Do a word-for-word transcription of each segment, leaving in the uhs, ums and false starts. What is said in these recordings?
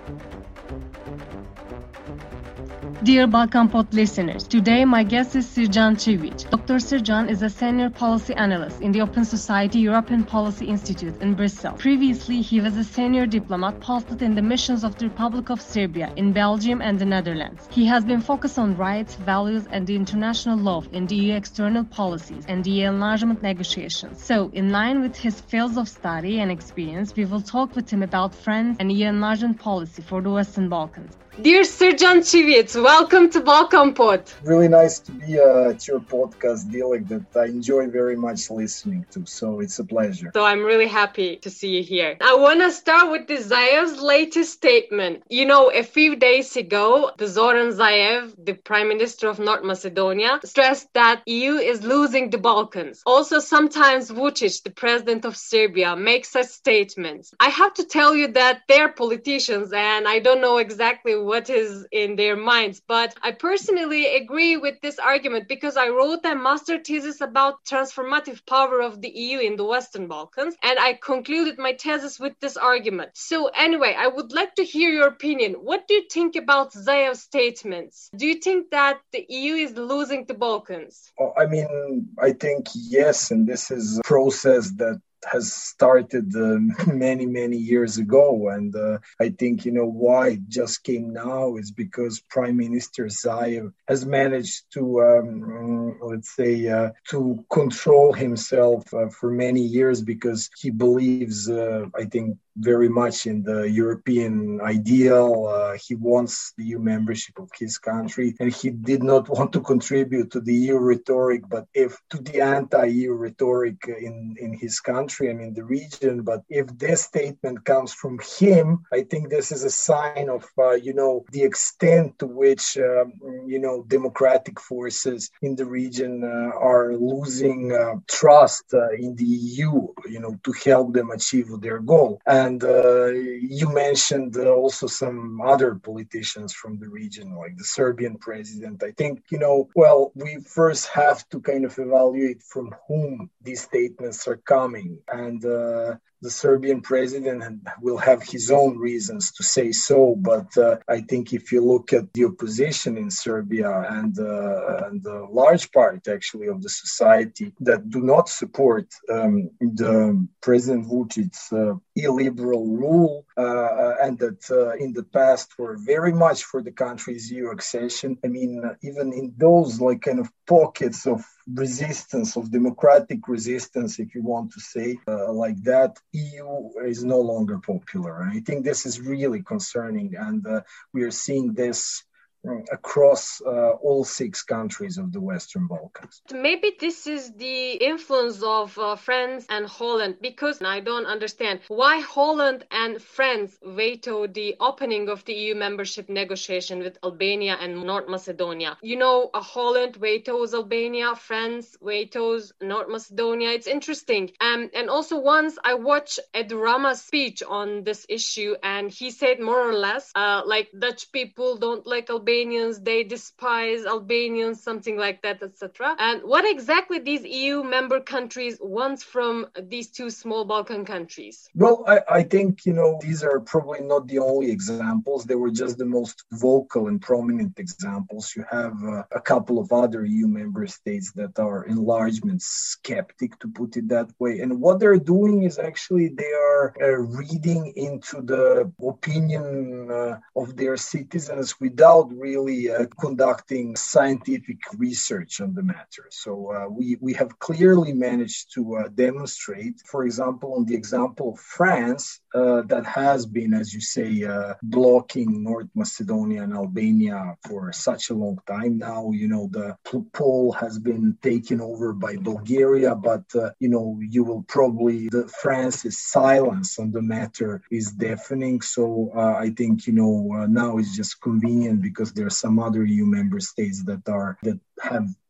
Dear Balkan Pod listeners, today my guest is Sirjan Civic. Doctor Sirjan is a senior policy analyst in the Open Society European Policy Institute in Brussels. Previously, he was a senior diplomat posted in the missions of the Republic of Serbia in Belgium and the Netherlands. He has been focused on rights, values, and the international law in the E U external policies and the enlargement negotiations. So, in line with his fields of study and experience, we will talk with him about friends and E U enlargement policy for the Western Balkans. Dear Sirjan Civic, welcome to Balkan Pod. Really nice to be uh, at your podcast, Dilek, that I enjoy very much listening to. So it's a pleasure. So I'm really happy to see you here. I want to start with the Zaev's latest statement. You know, a few days ago, the Zoran Zaev, the Prime Minister of North Macedonia, stressed that E U is losing the Balkans. Also, sometimes Vučić, the President of Serbia, makes such statements. I have to tell you that they're politicians and I don't know exactly what is in their minds. But I personally agree with this argument because I wrote a master thesis about transformative power of the E U in the Western Balkans, and I concluded my thesis with this argument. So anyway, I would like to hear your opinion. What do you think about Zaev's statements? Do you think that the E U is losing the Balkans? Oh, I mean, I think yes, and this is a process that has started uh, many, many years ago. And uh, I think, you know, why it just came now is because Prime Minister Zaev has managed to, um, let's say, uh, to control himself uh, for many years because he believes, uh, I think, very much in the European ideal. Uh, he wants the E U membership of his country, and he did not want to contribute to the E U rhetoric, but if to the anti-E U rhetoric in, in his country and in the region. But if this statement comes from him, I think this is a sign of, uh, you know, the extent to which, um, you know, democratic forces in the region uh, are losing uh, trust uh, in the E U, you know, to help them achieve their goal. And And uh, you mentioned uh, also some other politicians from the region, like the Serbian president. I think, you know, well, we first have to kind of evaluate from whom these statements are coming. And uh, the Serbian president will have his own reasons to say so. But uh, I think if you look at the opposition in Serbia and, uh, and the large part, actually, of the society that do not support um, the President Vučić's uh, illiberal rule uh, and that uh, in the past were very much for the country's E U accession. I mean, uh, even in those like kind of pockets of resistance, of democratic resistance, if you want to say uh, like that, E U is no longer popular. And I think this is really concerning. And uh, we are seeing this across uh, all six countries of the Western Balkans. Maybe this is the influence of uh, France and Holland, because I don't understand why Holland and France vetoed the opening of the E U membership negotiation with Albania and North Macedonia. You know, uh, Holland vetoes Albania, France vetoes North Macedonia. It's interesting. Um, and also once I watched Edi Rama's speech on this issue, and he said more or less, uh, like Dutch people don't like Albania, Albanians, they despise Albanians, something like that, et cetera. And what exactly these E U member countries want from these two small Balkan countries? Well, I, I think, you know, these are probably not the only examples. They were just the most vocal and prominent examples. You have uh, a couple of other E U member states that are enlargement skeptic, to put it that way. And what they're doing is actually they are uh, reading into the opinion uh, of their citizens without really uh, conducting scientific research on the matter. So uh, we, we have clearly managed to uh, demonstrate, for example, on the example of France, uh, that has been, as you say, uh, blocking North Macedonia and Albania for such a long time now. You know, the poll has been taken over by Bulgaria, but, uh, you know, you will probably, the France's silence on the matter is deafening. So uh, I think, you know, uh, now it's just convenient because there are some other E U member states that are that have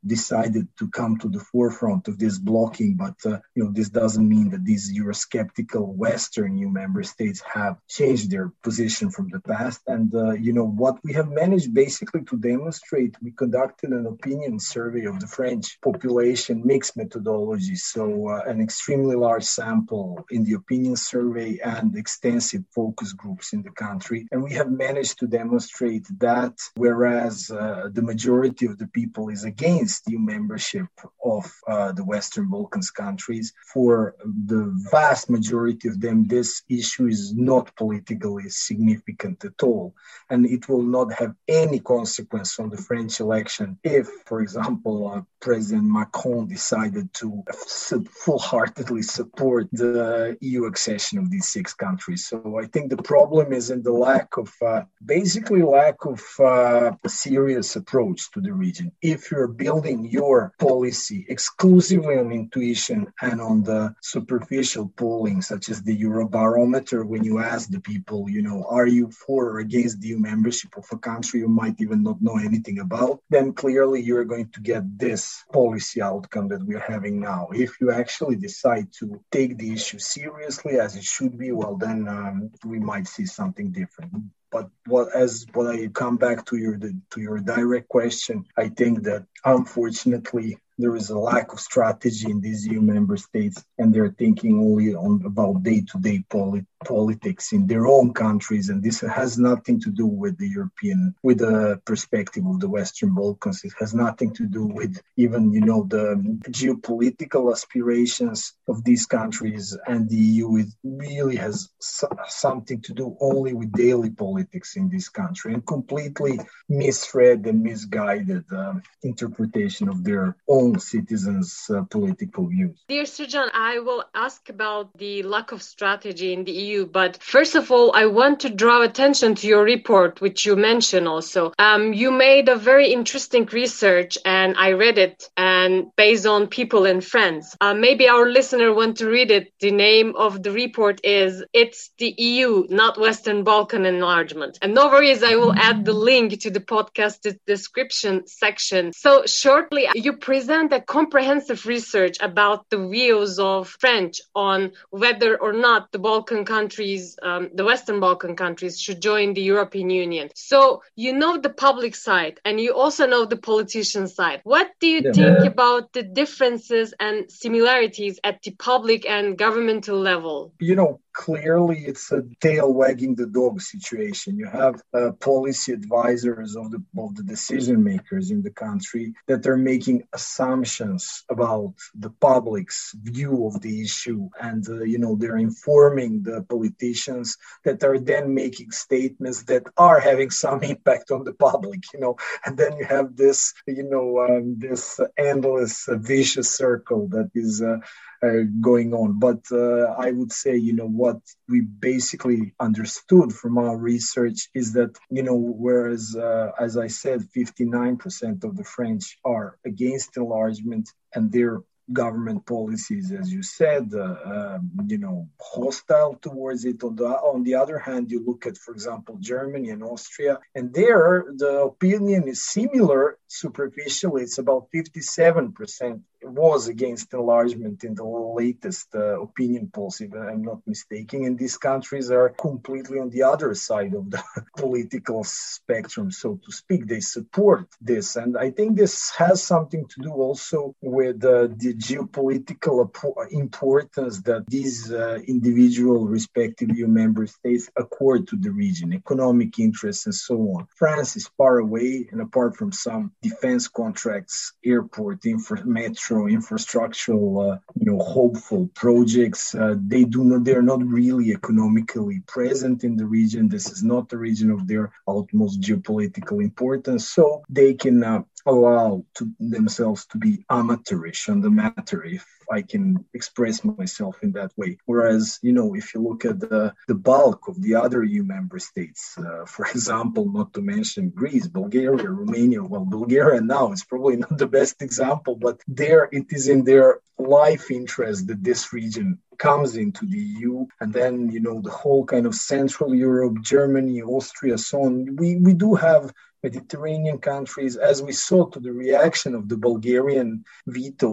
decided to come to the forefront of this blocking. But, uh, you know, this doesn't mean that these Eurosceptical Western E U member states have changed their position from the past. And, uh, you know, what we have managed basically to demonstrate, we conducted an opinion survey of the French population, mixed methodology. So uh, an extremely large sample in the opinion survey and extensive focus groups in the country. And we have managed to demonstrate that whereas uh, the majority of the people is against E U membership of uh, the Western Balkans countries, for the vast majority of them, this issue is not politically significant at all. And it will not have any consequence on the French election if, for example, uh, President Macron decided to full-heartedly support the E U accession of these six countries. So I think the problem is in the lack of, uh, basically lack of uh, a serious approach to the region. If you're building your policy exclusively on intuition and on the superficial polling, such as the Eurobarometer, when you ask the people, you know, are you for or against the E U membership of a country you might even not know anything about, then clearly you're going to get this policy outcome that we're having now. If you actually decide to take the issue seriously as it should be, well, then um, we might see something different. But what, as when I come back to your to your direct question, I think that unfortunately there is a lack of strategy in these E U member states, and they're thinking only on about day-to-day polit- politics in their own countries, and this has nothing to do with the European, with the perspective of the Western Balkans. It has nothing to do with even, you know, the geopolitical aspirations of these countries and the E U. It really has so- something to do only with daily politics in this country, and completely misread and misguided uh, interpretation of their own citizens' uh, political views. Dear Srdjan, I will ask about the lack of strategy in the E U, but first of all, I want to draw attention to your report, which you mentioned also. Um, you made a very interesting research, and I read it, and based on people and friends. Uh, maybe our listener want to read it. The name of the report is "It's the E U, Not Western Balkan Enlargement." And no worries, I will add the link to the podcast description section. So shortly, you present a comprehensive research about the views of French on whether or not the Balkan countries, um, the Western Balkan countries, should join the European Union. So you know the public side, and you also know the politician side. What do you yeah. think about the differences and similarities at the public and governmental level? You know, clearly it's a tail wagging the dog situation. You have uh, policy advisors of the of the decision makers in the country that are making assumptions about the public's view of the issue, and uh, you know they're informing the politicians that are then making statements that are having some impact on the public. You know, and then you have this you know um, this endless uh, vicious circle that is. Uh, Uh, going on. But uh, I would say, you know, what we basically understood from our research is that, you know, whereas, uh, as I said, fifty-nine percent of the French are against enlargement, and their government policies, as you said, uh, uh, you know, hostile towards it. On the, on the other hand, you look at, for example, Germany and Austria, and there the opinion is similar. Superficially, it's about fifty-seven percent was against enlargement in the latest uh, opinion polls, if I'm not mistaken. And these countries are completely on the other side of the political spectrum, so to speak. They support this. And I think this has something to do also with uh, the geopolitical importance that these uh, individual respective E U member states accord to the region, economic interests and so on. France is far away, and apart from some defense contracts, airport, infra- metro, infrastructural, uh, you know, hopeful projects. Uh, they do not, they're not really economically present in the region. This is not the region of their utmost geopolitical importance. So they can uh, allow to themselves to be amateurish on the matter, if I can express myself in that way. Whereas, you know, if you look at the, the bulk of the other E U member states, uh, for example, not to mention Greece, Bulgaria, Romania, well, Bulgaria now is probably not the best example, but there it is in their life interest that this region comes into the E U. And then, you know, the whole kind of Central Europe, Germany, Austria, so on. We, we do have Mediterranean countries, as we saw to the reaction of the Bulgarian veto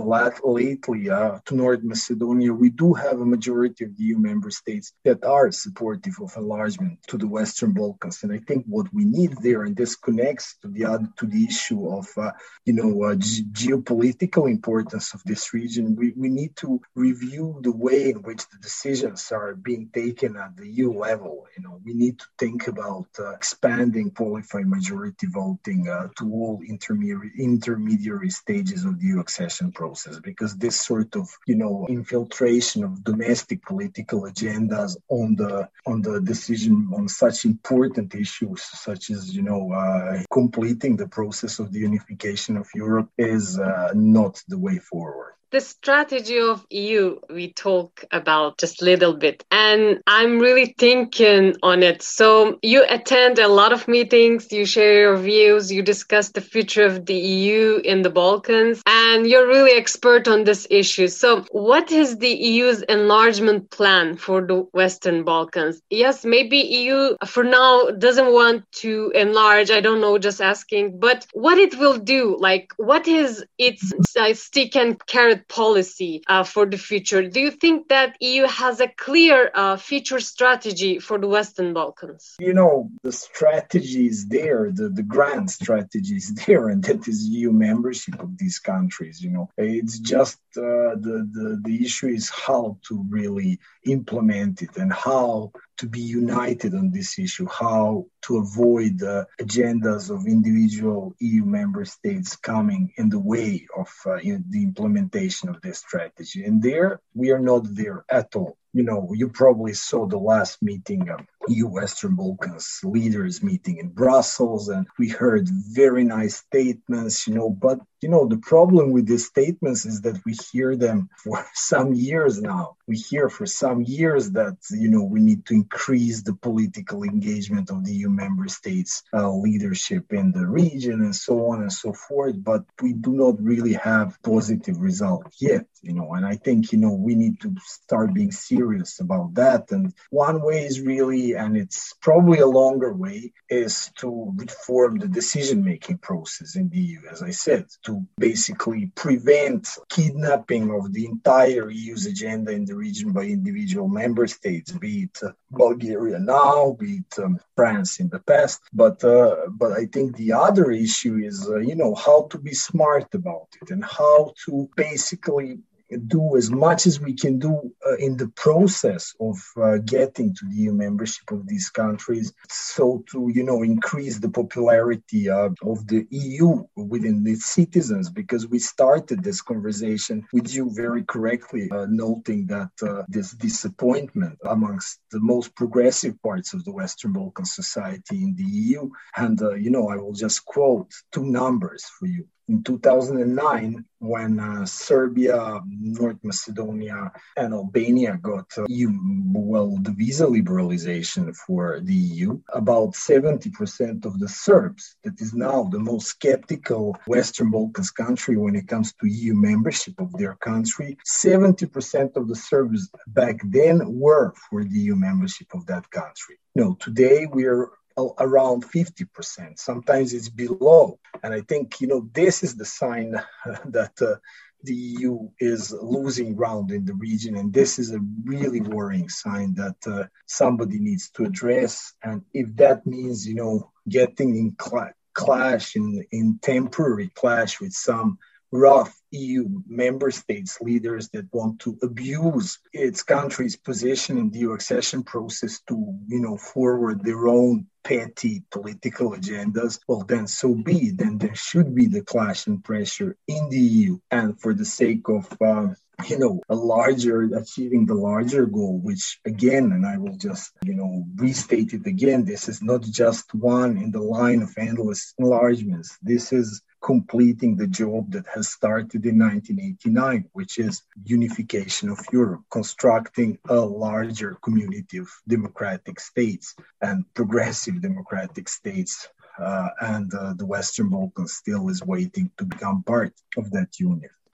lately uh, to North Macedonia, we do have a majority of the E U member states that are supportive of enlargement to the Western Balkans. And I think what we need there, and this connects to the other, to the issue of, uh, you know, uh, g- geopolitical importance of this region, we, we need to review the way in which the decisions are being taken at the E U level. You know, we need to think about uh, expanding qualified majority voting uh, to all intermediary intermediary stages of the E U accession process, because this sort of, you know, infiltration of domestic political agendas on the on the decision on such important issues, such as, you know, uh, completing the process of the unification of Europe, is uh, not the way forward. The strategy of E U we talk about just a little bit, and I'm really thinking on it. So you attend a lot of meetings, you share your views, you discuss the future of the E U in the Balkans, and you're really expert on this issue. So what is the E U's enlargement plan for the Western Balkans? Yes, maybe E U for now doesn't want to enlarge, I don't know, just asking, but what it will do, like what is its uh, stick and carrot policy uh, for the future? Do you think that E U has a clear uh, future strategy for the Western Balkans? You know, the strategy is there, the, the grand strategy is there, and that is E U membership of these countries. You know, it's just uh, the, the, the issue is how to really implement it and how to be united on this issue, how to avoid the uh, agendas of individual E U member states coming in the way of uh, in the implementation of this strategy. And there, we are not there at all. You know, you probably saw the last meeting of E U Western Balkans leaders meeting in Brussels, and we heard very nice statements, you know, but, you know, the problem with these statements is that we hear them for some years now. We hear for some years that, you know, we need to increase the political engagement of the E U member states, uh, leadership in the region, and so on and so forth, but we do not really have positive results yet, you know, and I think, you know, we need to start being serious about that. And one way is really, and it's probably a longer way, is to reform the decision-making process in the E U, as I said, to basically prevent kidnapping of the entire E U's agenda in the region by individual member states, be it uh, Bulgaria now, be it um, France in the past. But uh, but I think the other issue is, uh, you know, how to be smart about it and how to basically do as much as we can do uh, in the process of uh, getting to the E U membership of these countries, so to, you know, increase the popularity uh, of the E U within its citizens, because we started this conversation with you very correctly, uh, noting that uh, this disappointment amongst the most progressive parts of the Western Balkan society in the E U. And, uh, you know, I will just quote two numbers for you. In two thousand nine, when uh, Serbia, North Macedonia, and Albania got uh, E U, well, the visa liberalization for the E U, about seventy percent of the Serbs, that is now the most skeptical Western Balkans country when it comes to E U membership of their country, seventy percent of the Serbs back then were for the E U membership of that country. No, today we're around fifty percent. Sometimes it's below. And I think, you know, this is the sign that uh, the E U is losing ground in the region. And this is a really worrying sign that uh, somebody needs to address. And if that means, you know, getting in cl- clash, in, in temporary clash with some rough E U member states leaders that want to abuse its country's position in the E U accession process to, you know, forward their own petty political agendas, well, then so be it. Then there should be the clash and pressure in the E U. And for the sake of, uh, you know, a larger, achieving the larger goal, which again, and I will just, you know, restate it again, this is not just one in the line of endless enlargements. This is completing the job that has started in nineteen eighty-nine, which is unification of Europe, constructing a larger community of democratic states and progressive democratic states. Uh, and uh, the Western Balkans still is waiting to become part of that union.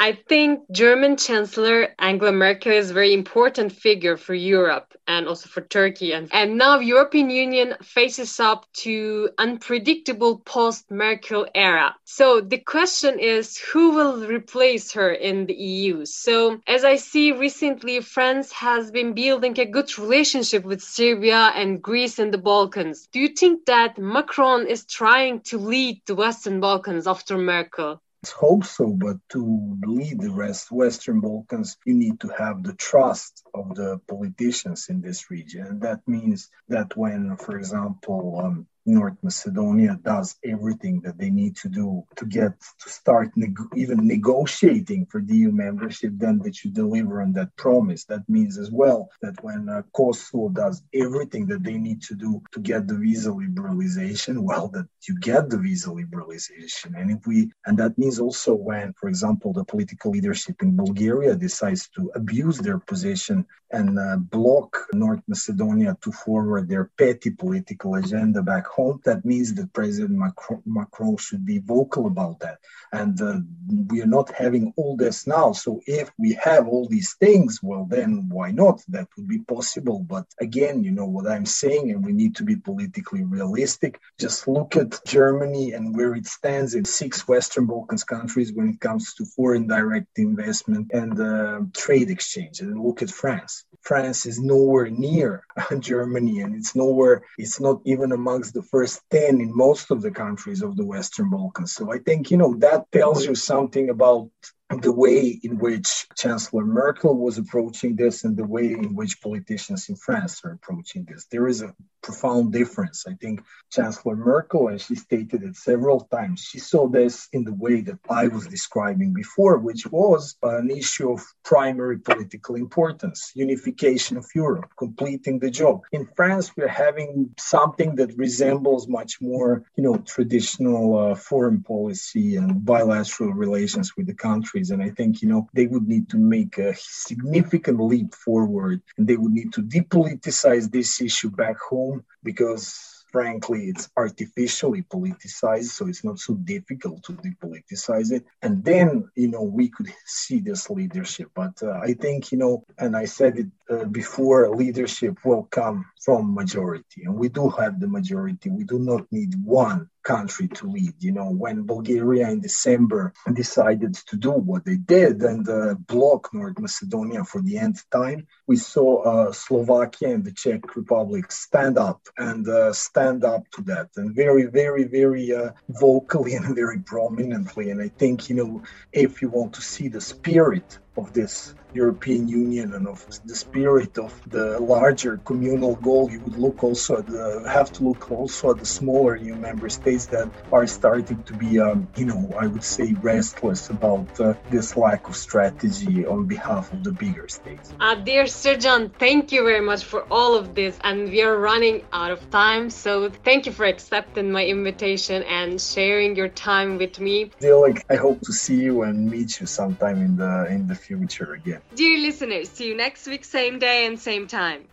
I think German Chancellor Angela Merkel is a very important figure for Europe and also for Turkey. And, and now European Union faces up to unpredictable post-Merkel era. So the question is, who will replace her in the E U? So as I see recently, France has been building a good relationship with Serbia and Greece and the Balkans. Do you think that Macron is trying to lead the Western Balkans after Merkel? Let's hope so, but to lead the rest Western Balkans, you need to have the trust of the politicians in this region. And that means that when, for example, um, North Macedonia does everything that they need to do to get to start neg- even negotiating for the E U membership, then that you deliver on that promise. That means as well that when uh, Kosovo does everything that they need to do to get the visa liberalization, well, that you get the visa liberalization. And if we, and that means also when, for example, the political leadership in Bulgaria decides to abuse their position and uh, block North Macedonia to forward their petty political agenda back home, that means that President Macron, Macron should be vocal about that. And uh, we are not having all this now. So if we have all these things, well, then why not? That would be possible. But again, you know what I'm saying, and we need to be politically realistic. Just look at Germany and where it stands in six Western Balkans countries when it comes to foreign direct investment and uh, trade exchange. And look at France. France is nowhere near Germany, and it's nowhere, it's not even amongst the first ten in most of the countries of the Western Balkans. So I think, you know, that tells you something about the way in which Chancellor Merkel was approaching this and the way in which politicians in France are approaching this. There is a profound difference. I think Chancellor Merkel, and she stated it several times, she saw this in the way that I was describing before, which was an issue of primary political importance, unification of Europe, completing the job. In France, we're having something that resembles much more, you know, traditional uh, foreign policy and bilateral relations with the countries. And I think, you know, they would need to make a significant leap forward, and they would need to depoliticize this issue back home, because frankly, it's artificially politicized, so it's not so difficult to depoliticize it. And then, you know, we could see this leadership. But uh, I think, you know, and I said it uh, before, leadership will come from majority. And we do have the majority. We do not need one country to lead. You know, when Bulgaria in December decided to do what they did and uh, block North Macedonia for the nth time, we saw uh, Slovakia and the Czech Republic stand up and uh, stand up to that, and very, very, very uh, vocally and very prominently. And I think, you know, if you want to see the spirit of this European Union and of the spirit of the larger communal goal, you would look also at the, have to look also at the smaller E U member states that are starting to be, um, you know, I would say restless about uh, this lack of strategy on behalf of the bigger states. Uh, dear Srdjan, thank you very much for all of this, and we are running out of time, so thank you for accepting my invitation and sharing your time with me. Dilek, I hope to see you and meet you sometime in the in the future again. Dear listeners, see you next week, same day and same time.